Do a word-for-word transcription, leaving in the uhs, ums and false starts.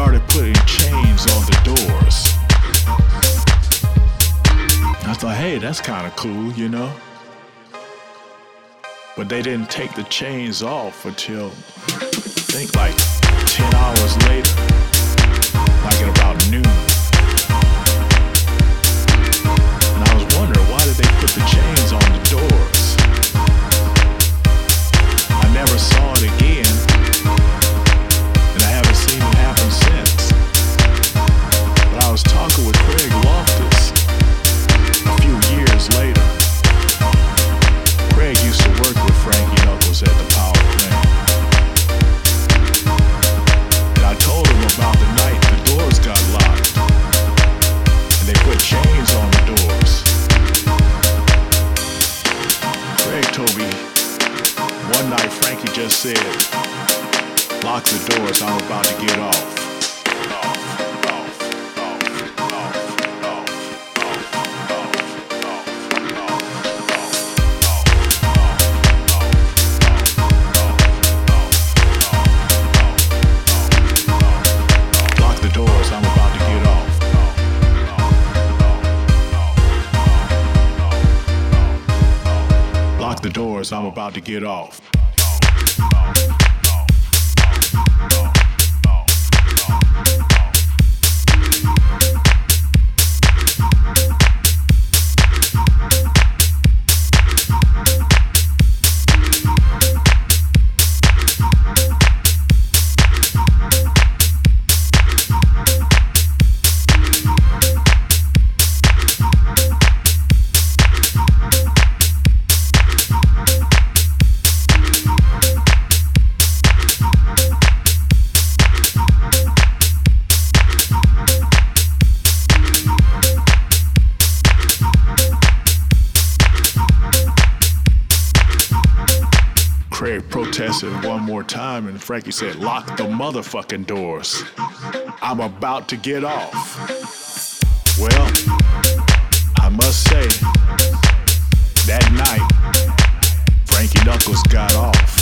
started putting chains on the doors. I thought, hey, that's kind of cool, you know? But they didn't take the chains off until, I think, like ten hours later, like at about noon. And I was wondering, why did they put the chains on the doors? I never saw it again, and I haven't seen it happen since. But I was talking with Craig Loftus a few years later. Craig used to work with Frankie Knuckles at the power plant. And I told him about the night the doors got locked, and they put chains on the doors. Craig told me one night Frankie just said, "Lock the doors, I'm about to get off." The doors, I'm about to get off. Craig protested one more time, and Frankie said, "Lock the motherfucking doors. I'm about to get off." Well, I must say, that night, Frankie Knuckles got off.